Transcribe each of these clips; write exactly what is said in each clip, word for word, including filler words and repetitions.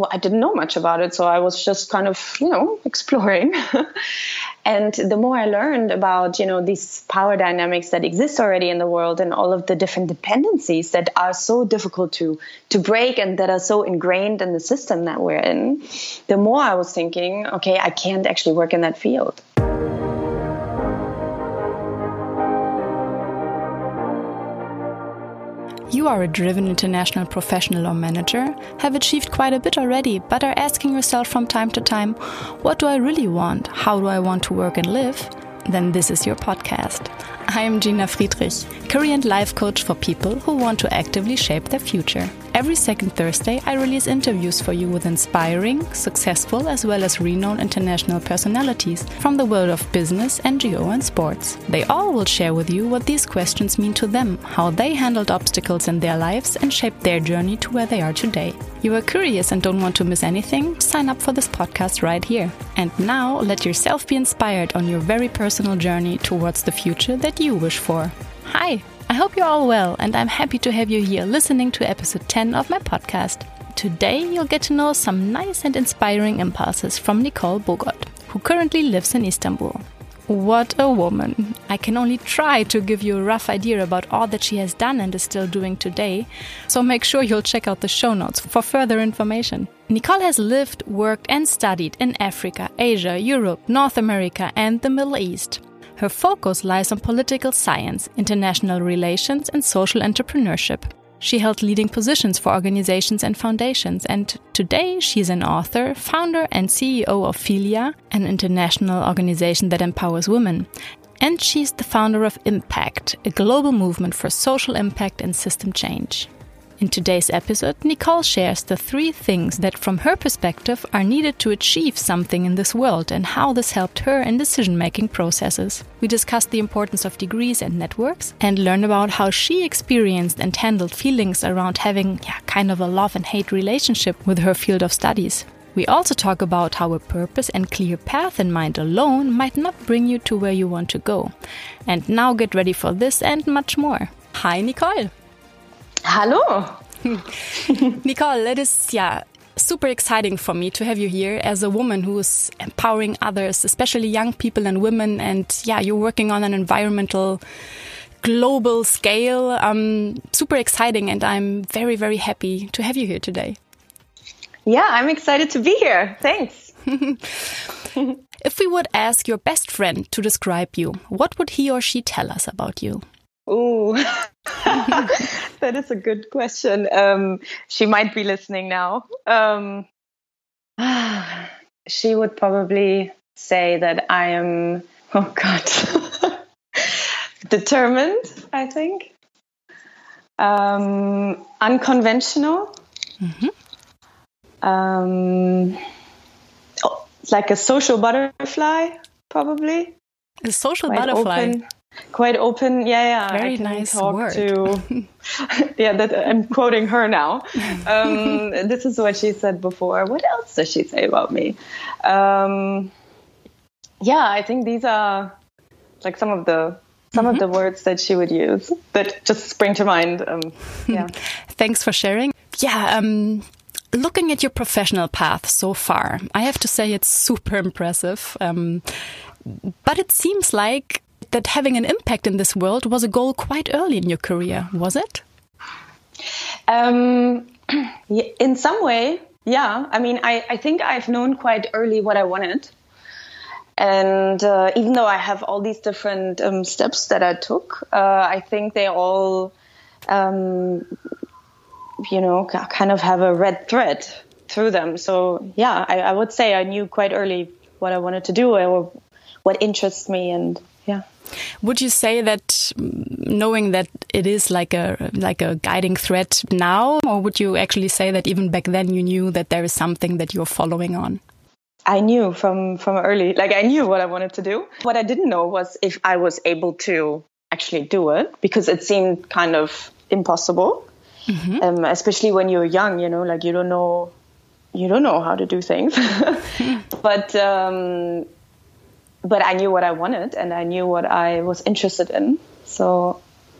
well, I didn't know much about it. So I was just kind of, you know, exploring. And the more I learned about, you know, these power dynamics that exist already in the world and all of the different dependencies that are so difficult to, to break and that are so ingrained in the system that we're in, the more I was thinking, okay, I can't actually work in that field. You are a driven international professional or manager, have achieved quite a bit already, but are asking yourself from time to time, what do I really want? How do I want to work and live? Then this is your podcast. I am Gina Friedrich, career and life coach for people who want to actively shape their future. Every second Thursday, I release interviews for you with inspiring, successful, as well as renowned international personalities from the world of business, N G O, and sports. They all will share with you what these questions mean to them, how they handled obstacles in their lives, and shaped their journey to where they are today. You are curious and don't want to miss anything? Sign up for this podcast right here. And now, let yourself be inspired on your very personal journey towards the future that you wish for. Hi! I hope you're all well, and I'm happy to have you here listening to episode ten of my podcast. Today you'll get to know some nice and inspiring impulses from Nicole Bogot, who currently lives in Istanbul. What a woman! I can only try to give you a rough idea about all that she has done and is still doing today, so make sure you'll check out the show notes for further information. Nicole has lived, worked and studied in Africa, Asia, Europe, North America and the Middle East. Her focus lies on political science, international relations and social entrepreneurship. She held leading positions for organizations and foundations, and today she's an author, founder and C E O of Philia, an international organization that empowers women. And she's the founder of Impact, a global movement for social impact and system change. In today's episode, Nicole shares the three things that, from her perspective, are needed to achieve something in this world and how this helped her in decision-making processes. We discuss the importance of degrees and networks and learn about how she experienced and handled feelings around having yeah, kind of a love and hate relationship with her field of studies. We also talk about how a purpose and clear path in mind alone might not bring you to where you want to go. And now get ready for this and much more. Hi, Nicole! Hallo! Nicole, it is yeah, super exciting for me to have you here as a woman who is empowering others, especially young people and women. And yeah, you're working on an environmental global scale. Um, super exciting. And I'm very, very happy to have you here today. Yeah, I'm excited to be here. Thanks. If we would ask your best friend to describe you, what would he or she tell us about you? Ooh, that is a good question. Um, she might be listening now. Um, she would probably say that I am, oh God, determined, I think. Um, unconventional. Mm-hmm. Um, oh, like a social butterfly, probably. A social Quite butterfly. Open. Quite open, yeah, yeah. Very I can nice talk word. To, yeah, that I'm quoting her now. Um, this is what she said before. What else does she say about me? Um, yeah, I think these are like some of the some mm-hmm. of the words that she would use that just spring to mind. Um, yeah. Thanks for sharing. Yeah. Um, looking at your professional path so far, I have to say it's super impressive. Um, but it seems like that having an impact in this world was a goal quite early in your career, was it? Um, in some way, yeah. I mean, I, I think I've known quite early what I wanted. And uh, even though I have all these different um, steps that I took, uh, I think they all, um, you know, kind of have a red thread through them. So, yeah, I, I would say I knew quite early what I wanted to do or what interests me and yeah. Would you say that knowing that it is like a like a guiding thread now, or would you actually say that even back then you knew that there is something that you're following on? I knew from, from early, like I knew what I wanted to do. What I didn't know was if I was able to actually do it, because it seemed kind of impossible, mm-hmm. um, especially when you're young, you know, like you don't know, you don't know how to do things. But um But I knew what I wanted and I knew what I was interested in. So,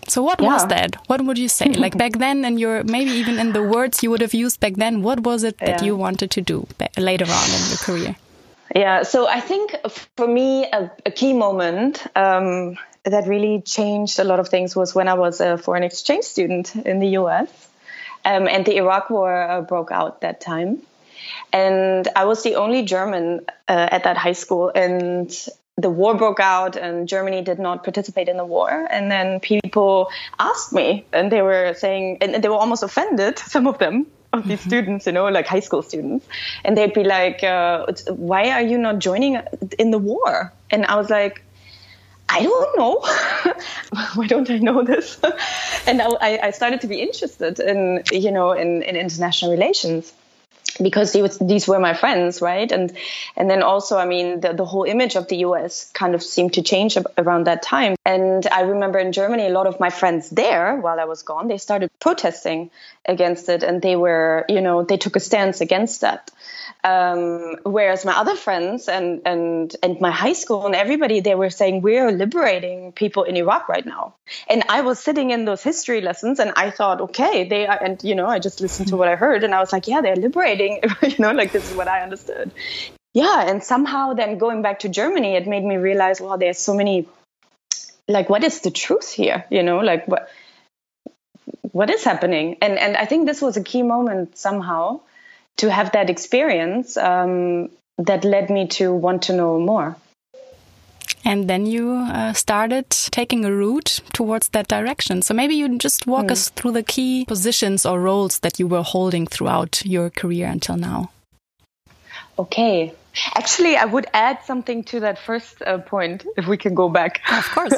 So what yeah. was that? What would you say? Like back then, and your maybe even in the words you would have used back then, what was it that yeah. you wanted to do later on in your career? Yeah, so I think for me, a, a key moment um, that really changed a lot of things was when I was a foreign exchange student in the U S um, and the Iraq War uh, broke out that time. And I was the only German uh, at that high school, and the war broke out and Germany did not participate in the war. And then people asked me, and they were saying, and they were almost offended, some of them, of these mm-hmm. students, you know, like high school students. And they'd be like, uh, why are you not joining in the war? And I was like, I don't know. Why don't I know this? And I, I started to be interested in, you know, in, in international relations, because these, these were my friends, right? And and then also, I mean, the, the whole image of the U S kind of seemed to change around that time. And I remember in Germany, a lot of my friends there, while I was gone, they started protesting against it. And they were, you know, they took a stance against that. Um, whereas my other friends and, and, and my high school and everybody, they were saying, we're liberating people in Iraq right now. And I was sitting in those history lessons and I thought, okay, they are, and, you know, I just listened to what I heard and I was like, yeah, they're liberating, you know, like this is what I understood. Yeah. And somehow then going back to Germany, it made me realize, wow, there's so many, like, what is the truth here? You know, like what, what is happening? And, and I think this was a key moment somehow, to have that experience um, that led me to want to know more. And then you uh, started taking a route towards that direction. So maybe you just walk mm. us through the key positions or roles that you were holding throughout your career until now. Okay. Actually, I would add something to that first uh, point, if we can go back. Of course.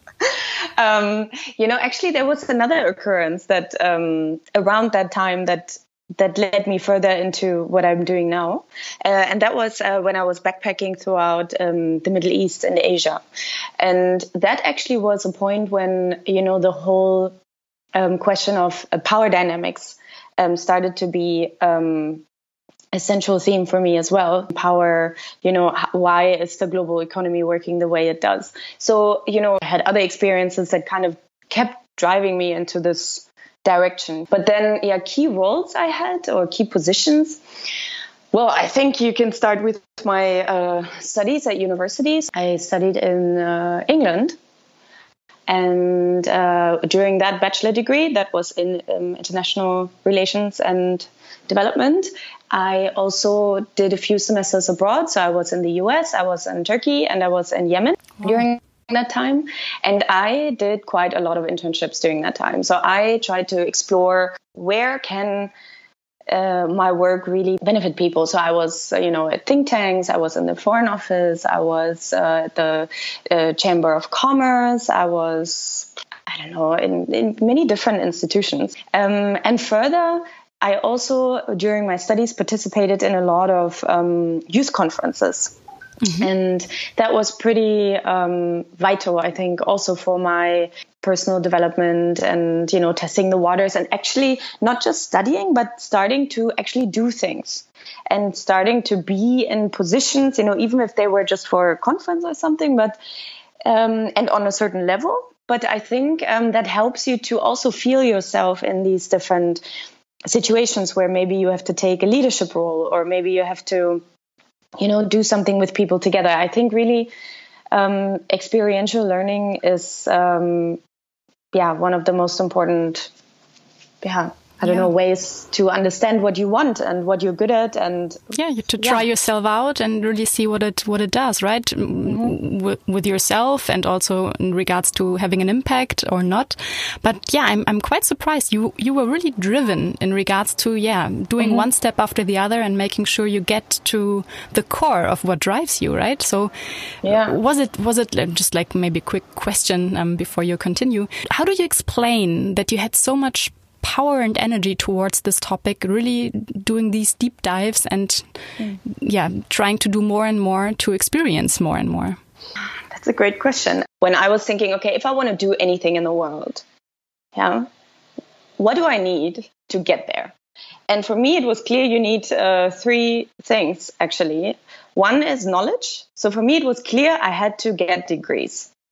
um, you know, actually, there was another occurrence that um, around that time that that led me further into what I'm doing now. Uh, and that was uh, when I was backpacking throughout um, the Middle East and Asia. And that actually was a point when, you know, the whole um, question of uh, power dynamics um, started to be um, a central theme for me as well. Power, you know, why is the global economy working the way it does? So, you know, I had other experiences that kind of kept driving me into this direction. But then, yeah, key roles I had or key positions. Well, I think you can start with my uh, studies at universities. I studied in uh, England. And uh, during that bachelor degree, that was in um, international relations and development, I also did a few semesters abroad. So I was in the U S, I was in Turkey, and I was in Yemen oh. during that time. And I did quite a lot of internships during that time. So I tried to explore where can uh, my work really benefit people. So I was, uh, you know, at think tanks, I was in the Foreign Office, I was uh, at the uh, Chamber of Commerce, I was, I don't know, in, in many different institutions. Um, and further, I also, during my studies, participated in a lot of um, youth conferences. Mm-hmm. And that was pretty um, vital, I think, also for my personal development and, you know, testing the waters and actually not just studying, but starting to actually do things and starting to be in positions, you know, even if they were just for a conference or something, but um, and on a certain level. But I think um, that helps you to also feel yourself in these different situations where maybe you have to take a leadership role or maybe you have to, you know, do something with people together. I think really um, experiential learning is, um, yeah, one of the most important, yeah, I don't yeah. know, ways to understand what you want and what you're good at. And yeah, you to try yeah. yourself out and really see what it what it does, right? Mm-hmm. W- with yourself and also in regards to having an impact or not. But yeah, I'm I'm quite surprised. You you were really driven in regards to, yeah, doing mm-hmm. one step after the other and making sure you get to the core of what drives you, right? So yeah. was it, was it just like maybe a quick question um, before you continue? How do you explain that you had so much power and energy towards this topic, really doing these deep dives and mm. yeah, trying to do more and more to experience more and more? That's a great question. When I was thinking, okay, if I want to do anything in the world, yeah, what do I need to get there? And for me, it was clear you need uh, three things, actually. One is knowledge. So for me, it was clear I had to get degrees.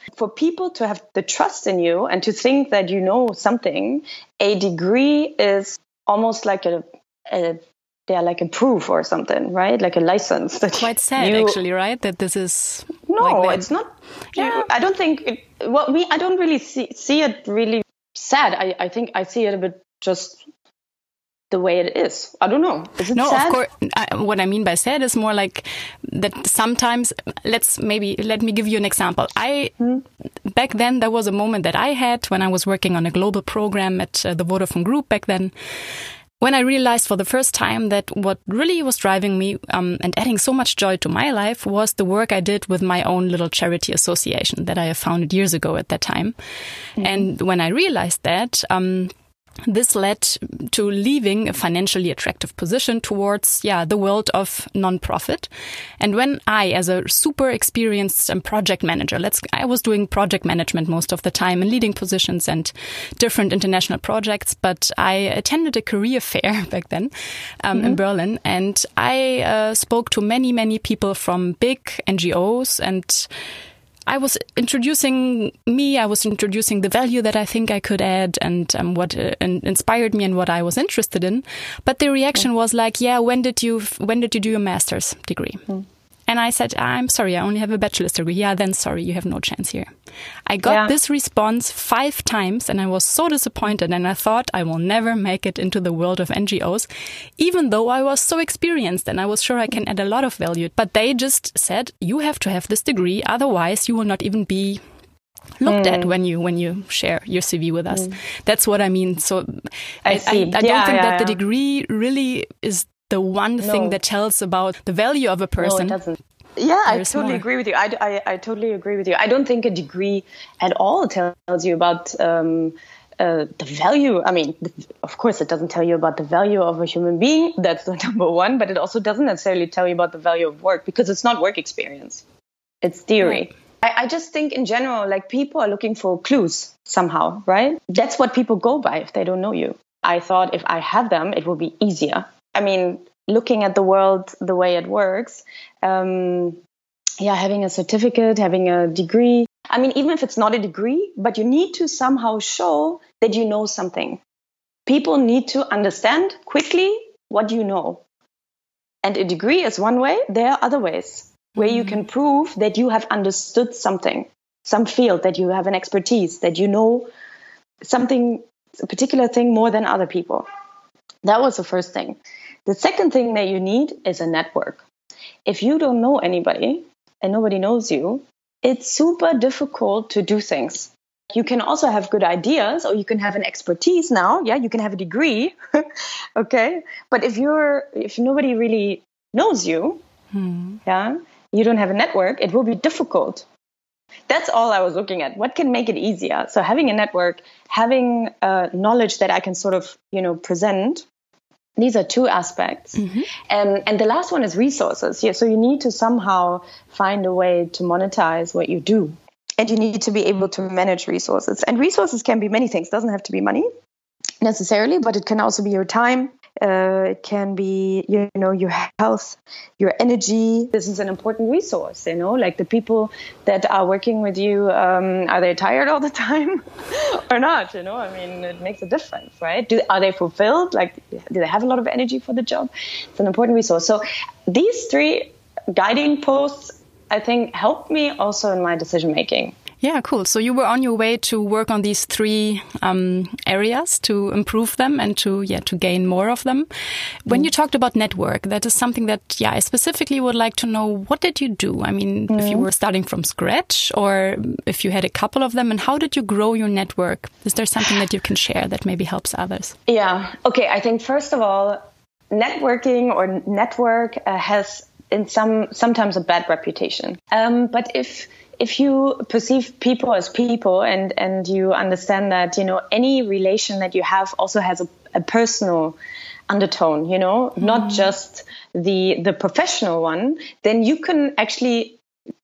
For people to have the trust in you and to think that you know something, a degree is almost like a, a yeah, like a proof or something, right? Like a license. That Quite sad, you, actually, right? That this is no, like it's not. Yeah. I don't think. It, well, me, I don't really see see it really sad. I, I think I see it a bit just the way it is. I don't know. Is it no, sad? of course. I, what I mean by sad is more like that sometimes, let's maybe, let me give you an example. I, hmm. back then, there was a moment that I had when I was working on a global program at uh, the Vodafone Group back then, when I realized for the first time that what really was driving me um, and adding so much joy to my life was the work I did with my own little charity association that I have founded years ago at that time. Mm-hmm. And when I realized that, um, this led to leaving a financially attractive position towards, yeah, the world of non-profit. And when I, as a super experienced um, project manager, let's, I was doing project management most of the time and leading positions and different international projects. But I attended a career fair back then um, mm-hmm. in Berlin, and I uh, spoke to many, many people from big N G Os, and I was introducing me, I was introducing the value that I think I could add and um, what uh, inspired me and what I was interested in. But the reaction yeah. was like, yeah, when did you when did you do your master's degree? Mm. And I said, I'm sorry, I only have a bachelor's degree. Yeah, then sorry, you have no chance here. I got yeah. this response five times and I was so disappointed, and I thought I will never make it into the world of N G Os, even though I was so experienced and I was sure I can add a lot of value. But they just said, you have to have this degree, otherwise you will not even be looked mm. at when you when you share your C V with us. Mm. That's what I mean. So I, I, I, I yeah, don't think yeah, that yeah. the degree really is the one no. thing that tells about the value of a person. No, it doesn't. Yeah, I totally more. agree with you. I, I, I totally agree with you. I don't think a degree at all tells you about um, uh, the value. I mean, of course, it doesn't tell you about the value of a human being. That's the number one. But it also doesn't necessarily tell you about the value of work, because it's not work experience. It's theory. Yeah. I, I just think in general, like, people are looking for clues somehow, right? That's what people go by if they don't know you. I thought if I have them, it will be easier. I mean, looking at the world the way it works, um, yeah, having a certificate, having a degree. I mean, even if it's not a degree, but you need to somehow show that you know something. People need to understand quickly what you know. And a degree is one way. There are other ways where mm-hmm. you can prove that you have understood something, some field, that you have an expertise, that you know something, a particular thing more than other people. That was the first thing. The second thing that you need is a network. If you don't know anybody and nobody knows you, it's super difficult to do things. You can also have good ideas, or you can have an expertise now. Yeah, you can have a degree. Okay. But if you're, if nobody really knows you, hmm. yeah, you don't have a network, it will be difficult. That's all I was looking at. What can make it easier? So having a network, having uh, knowledge that I can sort of, you know, present. These are two aspects. Mm-hmm. Um, and the last one is resources. Yeah, so you need to somehow find a way to monetize what you do. And you need to be able to manage resources. And resources can be many things. It doesn't have to be money necessarily, but it can also be your time. Uh, it can be, you know, your health, your energy. This is an important resource, you know, like the people that are working with you, um, are they tired all the time or not? You know, I mean, it makes a difference, right? Do, are they fulfilled? Like, do they have a lot of energy for the job? It's an important resource. So these three guiding posts, I think, helped me also in my decision making. Yeah, cool. So you were on your way to work on these three um, areas to improve them and to yeah to gain more of them. When mm. you talked about network, that is something that yeah I specifically would like to know. What did you do? I mean, mm. if you were starting from scratch, or if you had a couple of them, and how did you grow your network? Is there something that you can share that maybe helps others? Yeah. Okay. I think first of all, networking or network uh, has in some sometimes a bad reputation. Um, but if If you perceive people as people and, and you understand that, you know, any relation that you have also has a, a personal undertone, you know, mm-hmm. not just the the professional one, then you can actually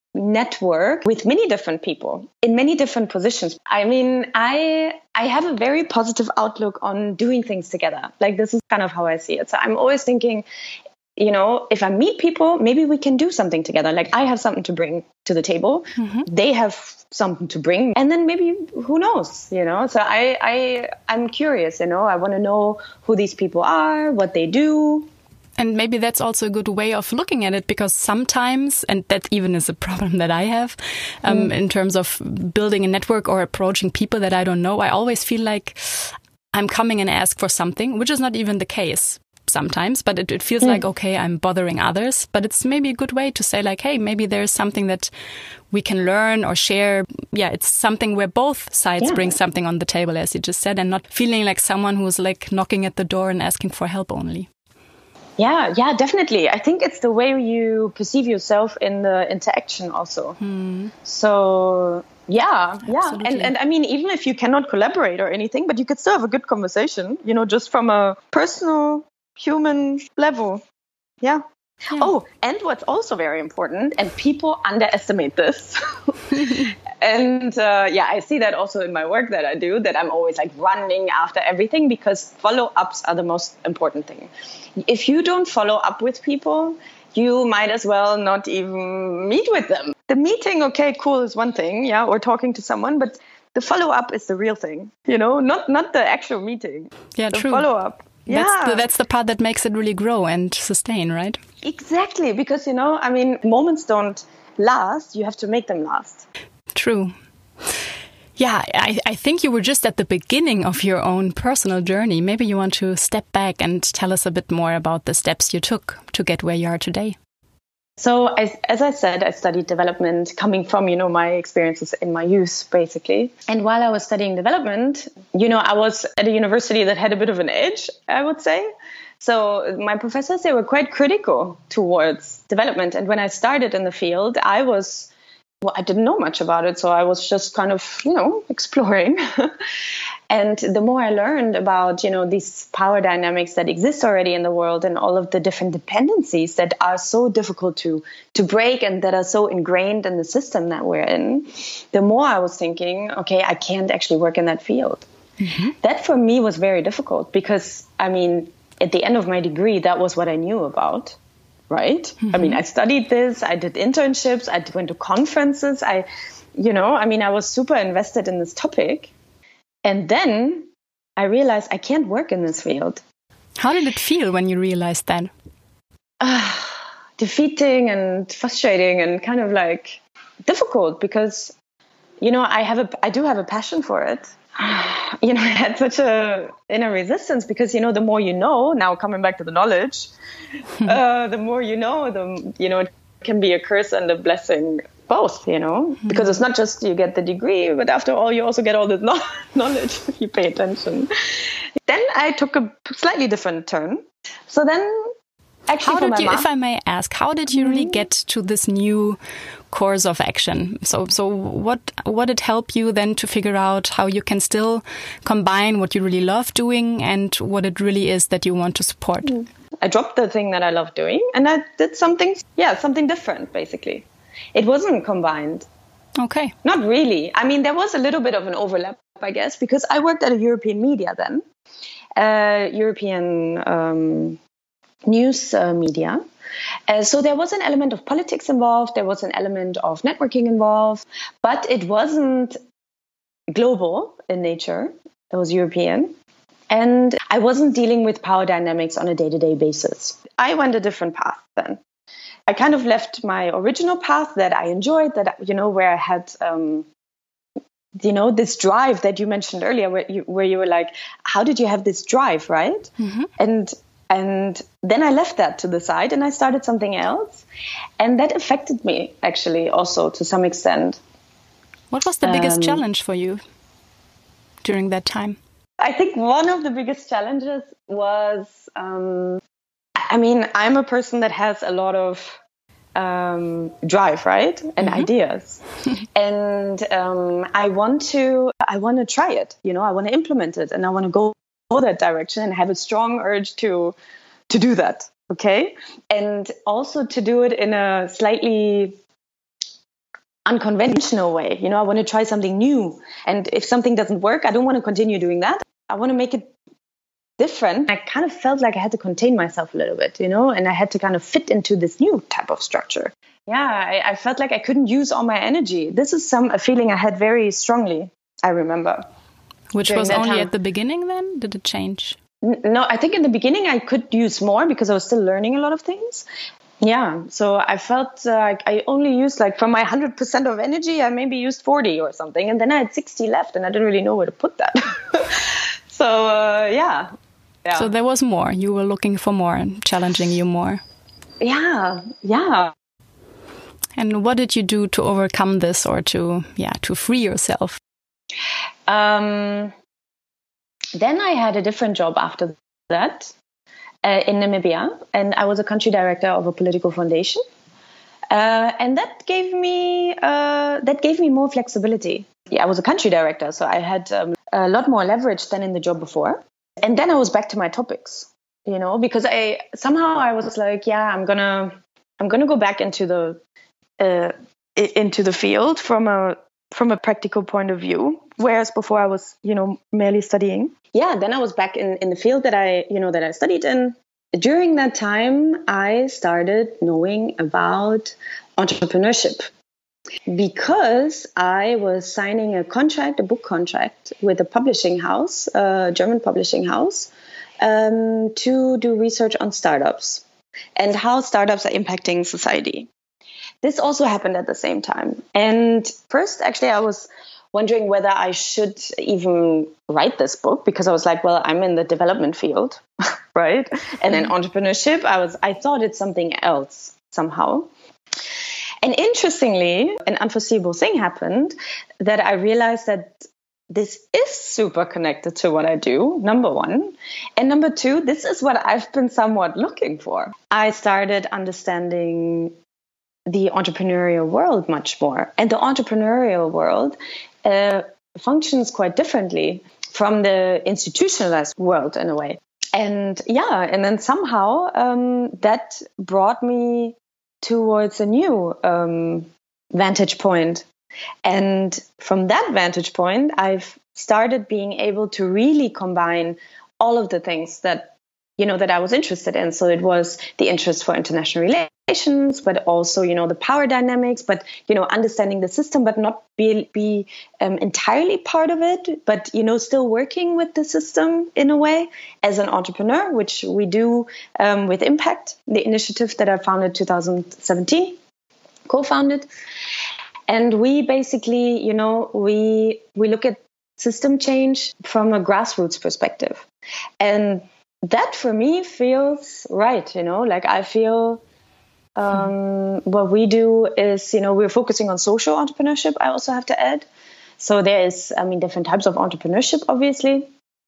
network with many different people in many different positions. I mean, I I have a very positive outlook on doing things together. Like, this is kind of how I see it. So I'm always thinking, you know, if I meet people, maybe we can do something together. Like I have something to bring to the table. Mm-hmm. They have something to bring. And then maybe, who knows, you know? So I, I, I'm curious, you know, I want to know who these people are, what they do. And maybe that's also a good way of looking at it, because sometimes, and that even is a problem that I have, um, mm. in terms of building a network or approaching people that I don't know, I always feel like I'm coming and ask for something, which is not even the case sometimes, but it, it feels mm. like, okay, I'm bothering others. But it's maybe a good way to say like, hey, maybe there's something that we can learn or share. Yeah, it's something where both sides yeah. bring something on the table, as you just said, and not feeling like someone who's like knocking at the door and asking for help only. Yeah, yeah, definitely. I think it's the way you perceive yourself in the interaction also. Hmm. So, yeah, yeah. Absolutely. And, and I mean, even if you cannot collaborate or anything, but you could still have a good conversation, you know, just from a personal, human level. Yeah. Yeah. Oh, and what's also very important, and people underestimate this. And uh, yeah, I see that also in my work that I do, that I'm always like running after everything, because follow-ups are the most important thing. If you don't follow up with people, you might as well not even meet with them. The meeting, okay, cool, is one thing, yeah, or talking to someone, but the follow-up is the real thing, you know, not not the actual meeting. Yeah, the true. Follow-up. Yeah. That's the, that's the part that makes it really grow and sustain, right? Exactly, because, you know, I mean, moments don't last, you have to make them last. True. Yeah, I, I think you were just at the beginning of your own personal journey. Maybe you want to step back and tell us a bit more about the steps you took to get where you are today. So, I, as I said, I studied development coming from, you know, my experiences in my youth, basically. And while I was studying development, you know, I was at a university that had a bit of an edge, I would say. So my professors, they were quite critical towards development. And when I started in the field, I was, well, I didn't know much about it. So I was just kind of, you know, exploring. And the more I learned about, you know, these power dynamics that exist already in the world and all of the different dependencies that are so difficult to, to break and that are so ingrained in the system that we're in, the more I was thinking, okay, I can't actually work in that field. Mm-hmm. That for me was very difficult because, I mean, at the end of my degree, that was what I knew about, right? Mm-hmm. I mean, I studied this, I did internships, I went to conferences, I, you know, I mean, I was super invested in this topic. And then I realized I can't work in this field. How did it feel when you realized that? Uh, defeating and frustrating and kind of like difficult because, you know, I have a, I do have a passion for it. You know, I had such a inner resistance because, you know, the more you know, now coming back to the knowledge, uh, the more you know, the, you know, it can be a curse and a blessing both, you know, mm-hmm. because it's not just you get the degree, but after all, you also get all this no- knowledge if you pay attention. Then I took a slightly different turn. So then actually, how did you, mom, if I may ask, how did you really get to this new course of action? So, so what, what did help you then to figure out how you can still combine what you really love doing and what it really is that you want to support? I dropped the thing that I love doing and I did something, yeah, something different, basically. It wasn't combined. Okay. Not really. I mean, there was a little bit of an overlap, I guess, because I worked at a European media then, uh, European um, news uh, media. Uh, so there was an element of politics involved. There was an element of networking involved, but it wasn't global in nature. It was European. And I wasn't dealing with power dynamics on a day-to-day basis. I went a different path then. I kind of left my original path that I enjoyed, that, you know, where I had, um, you know, this drive that you mentioned earlier, where you, where you were like, how did you have this drive, right? Mm-hmm. And and then I left that to the side and I started something else. And that affected me, actually, also to some extent. What was the biggest um, challenge for you during that time? I think one of the biggest challenges was... Um, I mean, I'm a person that has a lot of um, drive, right? And mm-hmm. ideas. and um, I want to, I want to try it, you know, I want to implement it and I want to go, go that direction and have a strong urge to, to do that. Okay. And also to do it in a slightly unconventional way. You know, I want to try something new. And if something doesn't work, I don't want to continue doing that. I want to make it different. I kind of felt like I had to contain myself a little bit, you know, and I had to kind of fit into this new type of structure. Yeah, I, I felt like I couldn't use all my energy. This is some a feeling I had very strongly, I remember. Which was only time. At the beginning then? Did it change? No, I think in the beginning I could use more because I was still learning a lot of things. Yeah, so I felt uh, like I only used like from my one hundred percent of energy, I maybe used forty or something. And then I had sixty left and I didn't really know where to put that. so, uh, yeah. yeah. So there was more. You were looking for more and challenging you more. Yeah, yeah. And what did you do to overcome this or to, yeah, to free yourself? Um, then I had a different job after that uh, in Namibia, and I was a country director of a political foundation, uh, and that gave me uh, that gave me more flexibility. Yeah, I was a country director, so I had um, a lot more leverage than in the job before. And then I was back to my topics, you know, because I somehow I was like, yeah, I'm gonna I'm gonna go back into the uh, into the field from a from a practical point of view, whereas before I was, you know, merely studying. Yeah, then I was back in, in the field that I, you know, that I studied in. During that time, I started knowing about entrepreneurship because I was signing a contract, a book contract with a publishing house, a German publishing house, um, to do research on startups and how startups are impacting society. This also happened at the same time. And first, actually, I was wondering whether I should even write this book because I was like, well, I'm in the development field, right? And then entrepreneurship, I was, I thought it's something else somehow. And interestingly, an unforeseeable thing happened that I realized that this is super connected to what I do, number one. And number two, this is what I've been somewhat looking for. I started understanding the entrepreneurial world much more. And the entrepreneurial world uh, functions quite differently from the institutionalized world in a way. And yeah, and then somehow um, that brought me towards a new um, vantage point. And from that vantage point, I've started being able to really combine all of the things that, you know, that I was interested in. So it was the interest for international relations, but also, you know, the power dynamics, but, you know, understanding the system, but not be, be um, entirely part of it, but, you know, still working with the system in a way as an entrepreneur, which we do um, with Impact, the initiative that I founded in two thousand seventeen, co-founded. And we basically, you know, we we look at system change from a grassroots perspective. And that for me feels right, you know, like I feel um, what we do is, you know, we're focusing on social entrepreneurship, I also have to add. So there is, I mean, different types of entrepreneurship, obviously,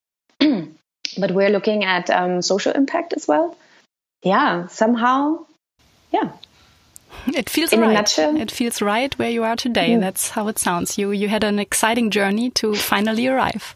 but we're looking at um, social impact as well. Yeah, somehow, yeah. It feels In right. a nutshell. It feels right where you are today. Mm. That's how it sounds. You you had an exciting journey to finally arrive.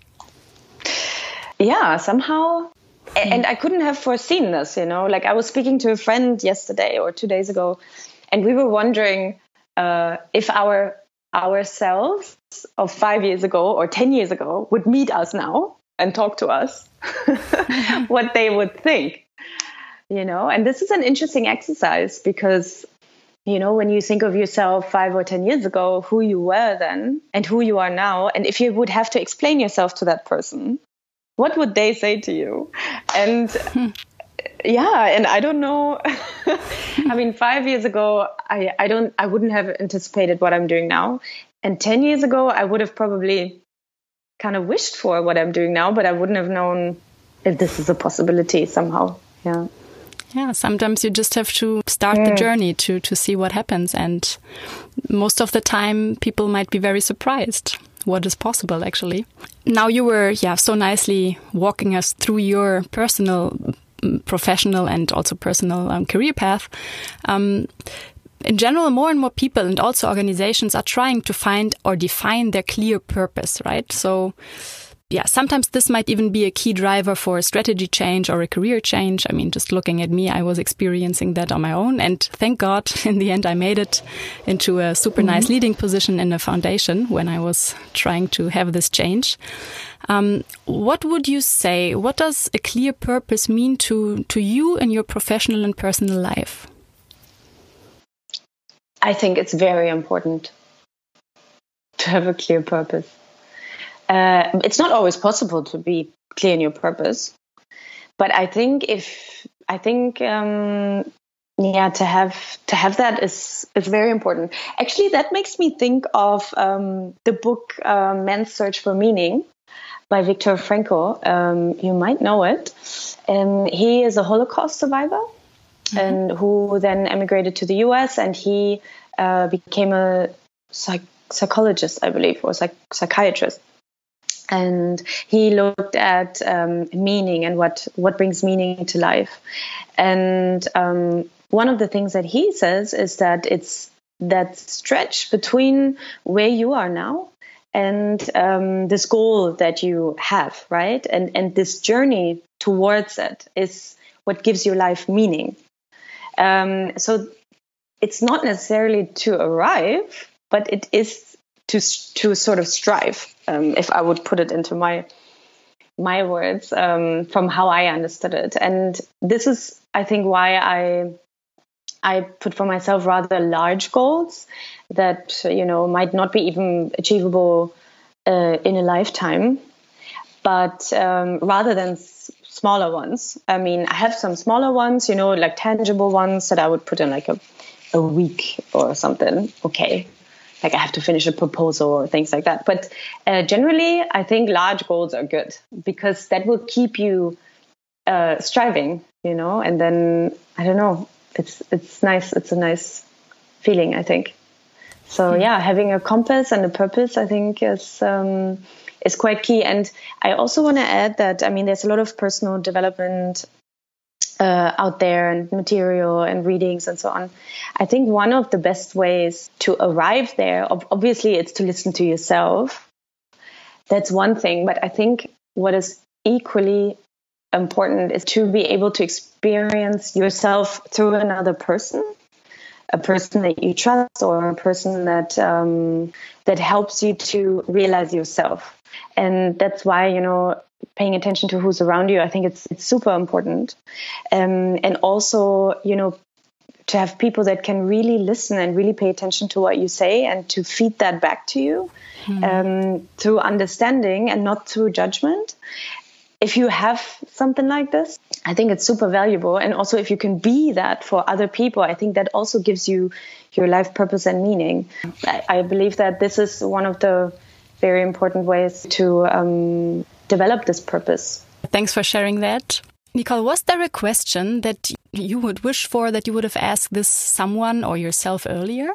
Yeah, somehow. Mm. And I couldn't have foreseen this, you know. Like I was speaking to a friend yesterday or two days ago, and we were wondering uh, if our ourselves of five years ago or ten years ago would meet us now and talk to us, what they would think, you know. And this is an interesting exercise because, you know, when you think of yourself five or ten years ago, who you were then and who you are now, and if you would have to explain yourself to that person, what would they say to you? And hmm. yeah, and I don't know. I mean, five years ago, I, I don't, I wouldn't have anticipated what I'm doing now. And ten years ago, I would have probably kind of wished for what I'm doing now, but I wouldn't have known if this is a possibility somehow. Yeah. Yeah, sometimes you just have to start mm. the journey to, to see what happens. And most of the time, people might be very surprised what is possible, actually. Now you were, yeah, so nicely walking us through your personal, professional and also personal um, career path. Um, in general, more and more people and also organizations are trying to find or define their clear purpose, right? So yeah, sometimes this might even be a key driver for a strategy change or a career change. I mean, just looking at me, I was experiencing that on my own. And thank God, in the end, I made it into a super mm-hmm. nice leading position in a foundation when I was trying to have this change. Um, what would you say? What does a clear purpose mean to, to you in your professional and personal life? I think it's very important to have a clear purpose. Uh, it's not always possible to be clear in your purpose, but I think if I think um, yeah, to have to have that is is very important. Actually, that makes me think of um, the book uh, "Man's Search for Meaning" by Viktor Frankl. Um, you might know it. Um, he is a Holocaust survivor, mm-hmm. and who then emigrated to the U S and he uh, became a psych- psychologist, I believe, or psych- psychiatrist. And he looked at um, meaning and what, what brings meaning to life. And um, one of the things that he says is that it's that stretch between where you are now and um, this goal that you have, right? And and this journey towards it is what gives your life meaning. Um, so it's not necessarily to arrive, but it is to to sort of strive, um, if I would put it into my my words, um, from how I understood it. And this is, I think, why I I put for myself rather large goals that, you know, might not be even achievable uh, in a lifetime, but um, rather than s- smaller ones. I mean, I have some smaller ones, you know, like tangible ones that I would put in like a, a week or something. Okay. Like I have to finish a proposal or things like that. But uh, generally, I think large goals are good because that will keep you uh, striving, you know, and then, I don't know, it's it's nice. It's a nice feeling, I think. So, mm-hmm. yeah, having a compass and a purpose, I think, is um, is quite key. And I also want to add that, I mean, there's a lot of personal development Uh, out there and material and readings and so on. I think one of the best ways to arrive there, ob- obviously it's to listen to yourself. That's one thing. But I think what is equally important is to be able to experience yourself through another person, a person that you trust or a person that um, that helps you to realize yourself. And that's why, you know, paying attention to who's around you, I think it's it's super important. Um, and also, you know, to have people that can really listen and really pay attention to what you say and to feed that back to you hmm. um, through understanding and not through judgment. If you have something like this, I think it's super valuable. And also if you can be that for other people, I think that also gives you your life purpose and meaning. I, I believe that this is one of the very important ways to um, develop this purpose. Thanks for sharing that. Nicole, was there a question that you would wish for that you would have asked this someone or yourself earlier?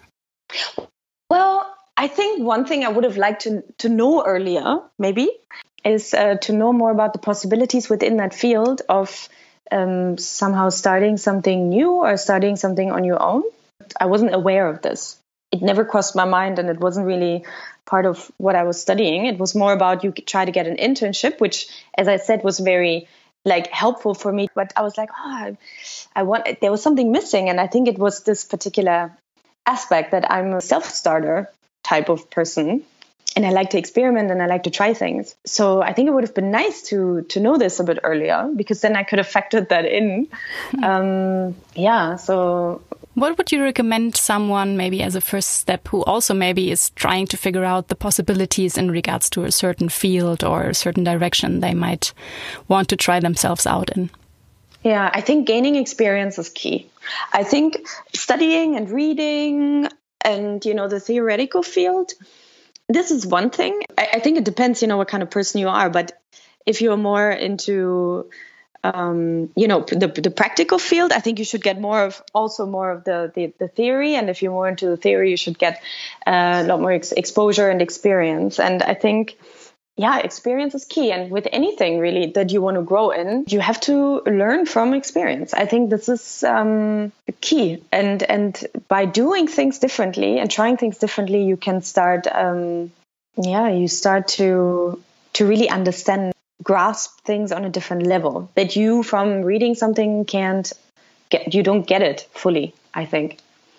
Well, I think one thing I would have liked to, to know earlier, maybe, is uh, to know more about the possibilities within that field of um, somehow starting something new or starting something on your own. I wasn't aware of this. It never crossed my mind, and it wasn't really part of what I was studying. It was more about you try to get an internship, which, as I said, was very like helpful for me. But I was like, oh, I, I want. There was something missing, and I think it was this particular aspect that I'm a self-starter type of person, and I like to experiment and I like to try things. So I think it would have been nice to to know this a bit earlier, because then I could have factored that in. um, yeah. So. What would you recommend someone maybe as a first step who also maybe is trying to figure out the possibilities in regards to a certain field or a certain direction they might want to try themselves out in? Yeah, I think gaining experience is key. I think studying and reading and, you know, the theoretical field, this is one thing. I, I think it depends, you know, what kind of person you are. But if you're more into Um, you know, the the practical field, I think you should get more of also more of the, the, the theory. And if you're more into the theory, you should get uh, a lot more ex- exposure and experience. And I think, yeah, experience is key. And with anything really that you want to grow in, you have to learn from experience. I think this is um, key. And and by doing things differently and trying things differently, you can start, um, yeah, you start to to really understand, grasp things on a different level that you from reading something can't get, you don't get it fully, I think.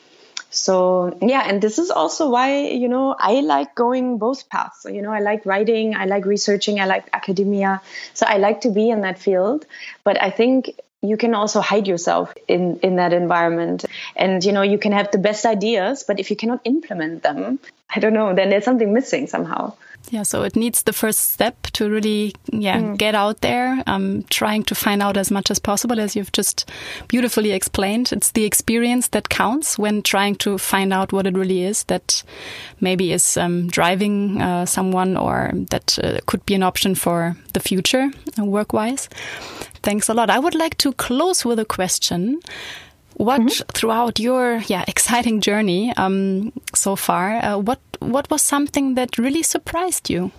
So, yeah, and this is also why, you know, I like going both paths. So, you know, I like writing, I like researching, I like academia. So I like to be in that field. But I think you can also hide yourself in, in that environment. And, you know, you can have the best ideas, but if you cannot implement them, I don't know, then there's something missing somehow. Yeah, so it needs the first step to really, yeah, mm. get out there, um, trying to find out as much as possible, as you've just beautifully explained. It's the experience that counts when trying to find out what it really is that maybe is um, driving uh, someone, or that uh, could be an option for the future, uh, work-wise. Thanks a lot. I would like to close with a question. What, mm-hmm. throughout your yeah exciting journey um, so far, uh, what what was something that really surprised you?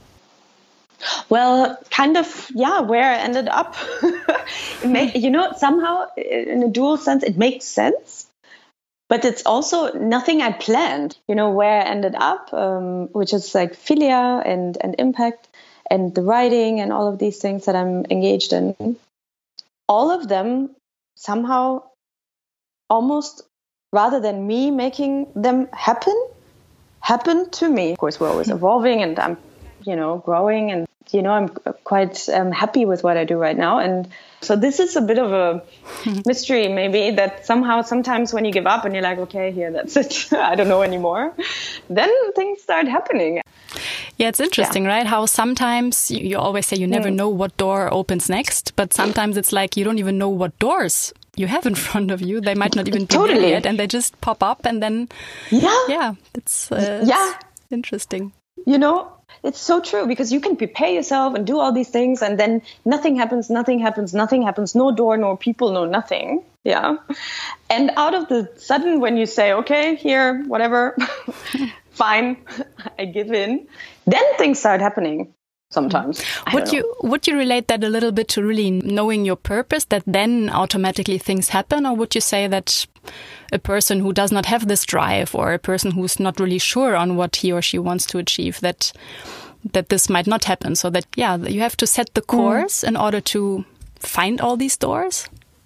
Well, kind of, yeah, where I ended up. It made, you know, somehow in a dual sense, it makes sense. But it's also nothing I planned, you know, where I ended up, um, which is like Filia and, and Impact and the writing and all of these things that I'm engaged in. All of them somehow, almost rather than me making them happen, happen to me. Of course, we're always evolving and I'm, you know, growing, and, you know, I'm quite um, happy with what I do right now. And so this is a bit of a mystery, maybe, that somehow sometimes when you give up and you're like, okay, here, that's it, I don't know anymore, then things start happening. Yeah, it's interesting, yeah. right? How sometimes you, you always say you never mm. know what door opens next, but sometimes it's like you don't even know what doors you have in front of you. They might not even be totally. there yet, and they just pop up, and then yeah, yeah, it's, uh, it's yeah, interesting. You know, it's so true, because you can prepare yourself and do all these things, and then nothing happens, nothing happens, nothing happens, no door, no people, no nothing. Yeah, and out of the sudden, when you say, okay, here, whatever, fine, I give in, then things start happening. Sometimes. Would you would you relate that a little bit to really knowing your purpose, that then automatically things happen? Or would you say that a person who does not have this drive, or a person who's not really sure on what he or she wants to achieve, that that this might not happen? So that, yeah, you have to set the course mm. in order to find all these doors?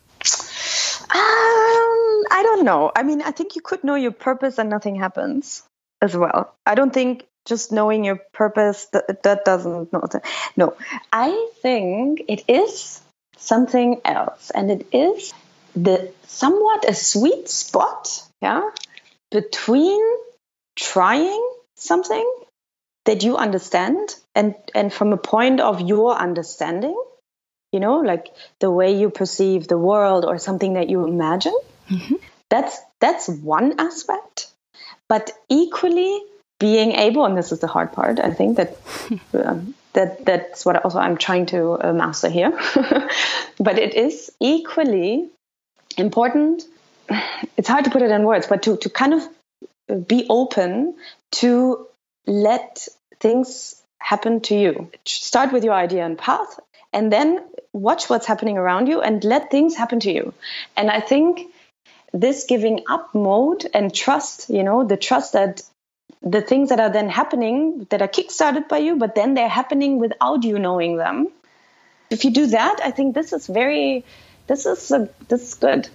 Um, I don't know. I mean, I think you could know your purpose and nothing happens as well. I don't think just knowing your purpose, that, that doesn't, no, no. I think it is something else. And it is the somewhat a sweet spot, yeah, between trying something that you understand and, and from a point of your understanding, you know, like the way you perceive the world or something that you imagine. Mm-hmm. That's, that's one aspect. But equally, being able, and this is the hard part, I think that um, that that's what also I'm trying to uh, master here. But it is equally important. It's hard to put it in words, but to to kind of be open to let things happen to you. Start with your idea and path, and then watch what's happening around you and let things happen to you. And I think this giving up mode and trust, you know, the trust that the things that are then happening, that are kickstarted by you, but then they're happening without you knowing them. If you do that, I think this is very, this is a, this is good.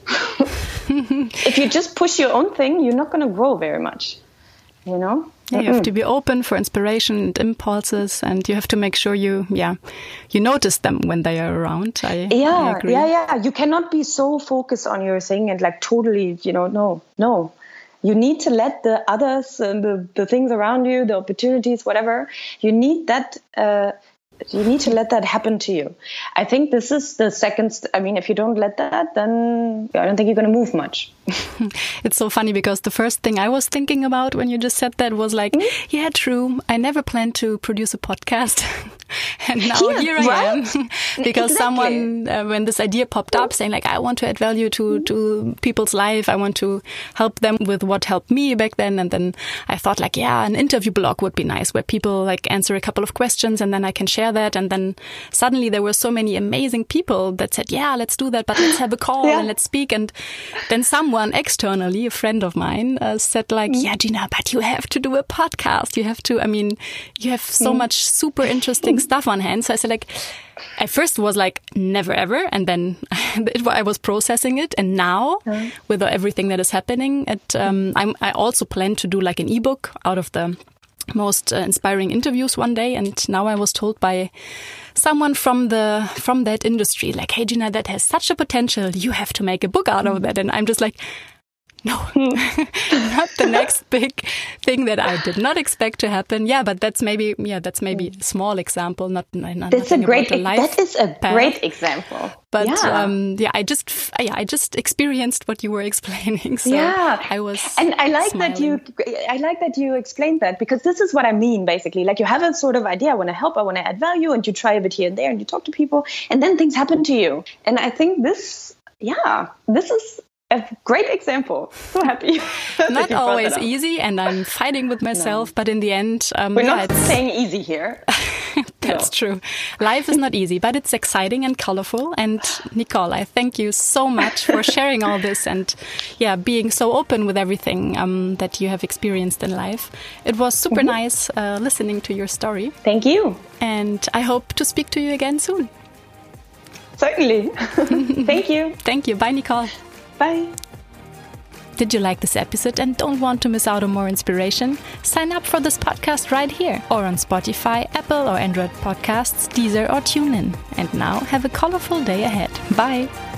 If you just push your own thing, you're not going to grow very much, you know? Yeah, you have to be open for inspiration and impulses, and you have to make sure you, yeah, you notice them when they are around. I, yeah, I agree. yeah, yeah. You cannot be so focused on your thing and like totally, you know, no, no. You need to let the others and the, the things around you, the opportunities, whatever, you need that, uh, you need to let that happen to you. I think this is the second, st- I mean, if you don't let that, then I don't think you're going to move much. It's so funny, because the first thing I was thinking about when you just said that was like, mm-hmm. yeah, true. I never planned to produce a podcast. And now yeah, here I right? am. Because exactly. someone, uh, when this idea popped up saying like, I want to add value to, to people's life. I want to help them with what helped me back then. And then I thought like, yeah, an interview blog would be nice, where people like answer a couple of questions and then I can share that. And then suddenly there were so many amazing people that said, yeah, let's do that, but let's have a call yeah. and let's speak. And then someone someone externally, a friend of mine, uh, said like, yeah, Gina, but you have to do a podcast. You have to, I mean, you have so mm. much super interesting stuff on hand. So I said like, at first was like, never ever. And then it, I was processing it. And now mm. with everything that is happening, it, um, I'm, I also plan to do like an ebook out of the most uh, inspiring interviews one day. And now I was told by someone from the from that industry, like, hey, Gina, that has such a potential. You have to make a book out of that. And I'm just like, no, not the next big thing that I did not expect to happen. Yeah, but that's maybe, yeah, that's maybe a small example. Not, not that's a great, about the life that is a path. Great example. But yeah. um, yeah, I just, yeah, I just experienced what you were explaining. So yeah, I was, and I like smiling. that you, I like that you explained that, because this is what I mean. Basically, like you have a sort of idea. I want to help. I want to add value, and you try a bit here and there, and you talk to people, and then things happen to you. And I think this, yeah, this is a great example. So happy. Not always easy, and I'm fighting with myself, no. but in the end, um, we're yeah, not it's saying easy here. That's no. true. Life is not easy, but it's exciting and colorful. And Nicole, I thank you so much for sharing all this and, yeah, being so open with everything um, that you have experienced in life. It was super mm-hmm. nice uh, listening to your story. Thank you. And I hope to speak to you again soon. Certainly. Thank you. Thank you. Bye, Nicole. Bye. Did you like this episode and don't want to miss out on more inspiration? Sign up for this podcast right here or on Spotify, Apple or Android podcasts, Deezer or TuneIn. And now have a colorful day ahead. Bye.